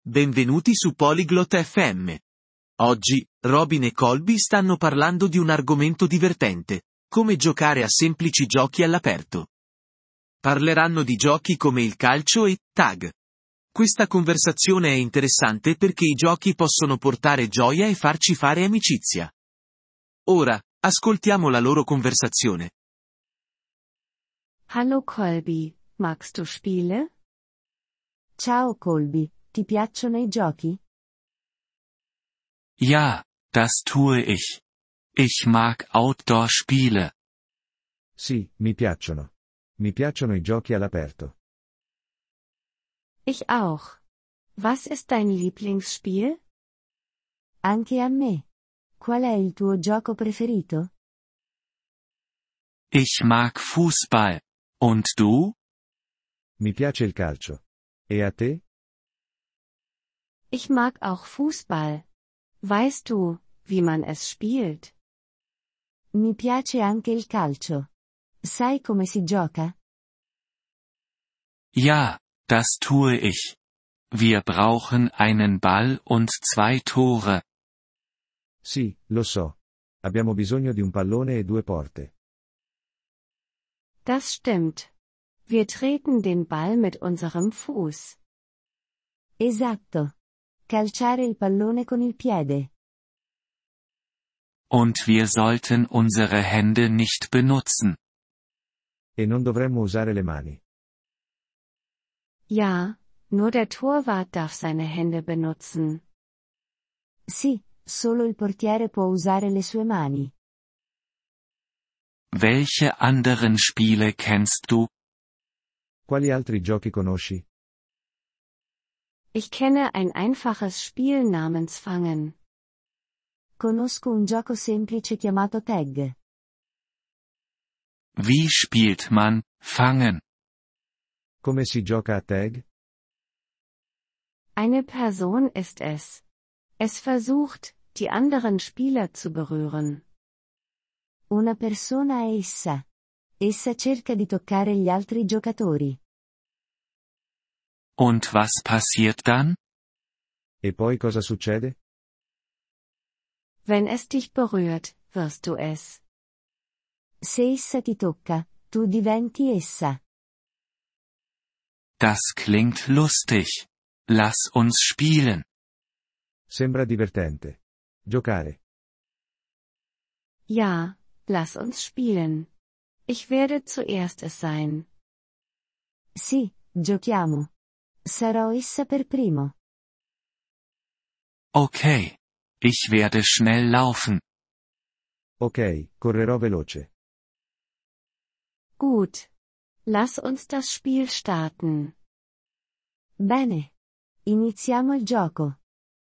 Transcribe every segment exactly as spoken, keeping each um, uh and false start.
Benvenuti su Polyglot F M. Oggi, Robin e Colby stanno parlando di un argomento divertente, come giocare a semplici giochi all'aperto. Parleranno di giochi come il calcio e tag. Questa conversazione è interessante perché i giochi possono portare gioia e farci fare amicizia. Ora, ascoltiamo la loro conversazione. Hallo Colby, magst du Spiele? Ciao Colby, ti piacciono i giochi? Ja, das tue ich. Ich mag Outdoor-Spiele. Sì, mi piacciono. Mi piacciono i giochi all'aperto. Ich auch. Was ist dein Lieblingsspiel? Anche a me. Qual è il tuo gioco preferito? Ich mag Fußball. Und du? Mi piace il calcio. E a te? Ich mag auch Fußball. Weißt du, wie man es spielt? Mi piace anche il calcio. Sai come si gioca? Ja, das tue ich. Wir brauchen einen Ball und zwei Tore. Sì, lo so. Abbiamo bisogno di un pallone e due porte. Das stimmt. Wir treten den Ball mit unserem Fuß. Esatto. Calciare il pallone con il piede. Und wir sollten unsere Hände nicht benutzen. E non dovremmo usare le mani. Ja, nur der Torwart darf seine Hände benutzen. Sì, solo il portiere può usare le sue mani. Welche anderen Spiele kennst du? Quali altri giochi conosci? Ich kenne ein einfaches Spiel namens Fangen. Conosco un gioco semplice chiamato tag. Wie spielt man Fangen? Come si gioca a tag? Eine Person ist es. Es versucht, die anderen Spieler zu berühren. Una persona è essa. Essa cerca di toccare gli altri giocatori. Und was passiert dann? E poi cosa succede? Wenn es dich berührt, wirst du es. Se essa ti tocca, tu diventi essa. Das klingt lustig. Lass uns spielen. Sembra divertente. Giocare. Ja, lass uns spielen. Ich werde zuerst es sein. Sì, giochiamo. Sarò essa per primo. Okay. Ich werde schnell laufen. Ok, correrò veloce. Gut. Lass uns das Spiel starten. Bene. Iniziamo il gioco.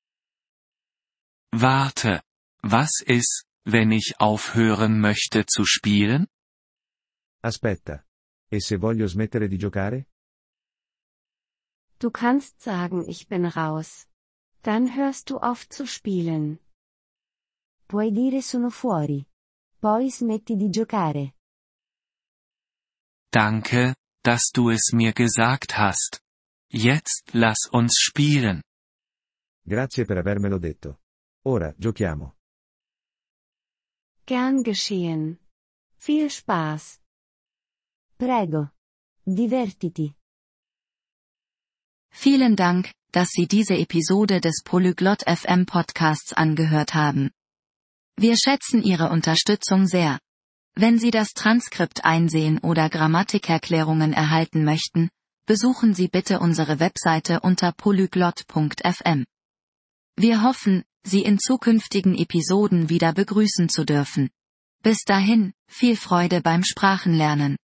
Warte. Was ist, wenn ich aufhören möchte zu spielen? Aspetta. E se voglio smettere di giocare? Du kannst sagen, ich bin raus. Dann hörst du auf zu spielen. Puoi dire sono fuori. Poi smetti di giocare. Danke, dass du es mir gesagt hast. Jetzt lass uns spielen. Grazie per avermelo detto. Ora, giochiamo. Gern geschehen. Viel Spaß. Prego. Divertiti. Vielen Dank, dass Sie diese Episode des Polyglot F M Podcasts angehört haben. Wir schätzen Ihre Unterstützung sehr. Wenn Sie das Transkript einsehen oder Grammatikerklärungen erhalten möchten, besuchen Sie bitte unsere Webseite unter polyglot punkt f m. Wir hoffen, Sie in zukünftigen Episoden wieder begrüßen zu dürfen. Bis dahin, viel Freude beim Sprachenlernen.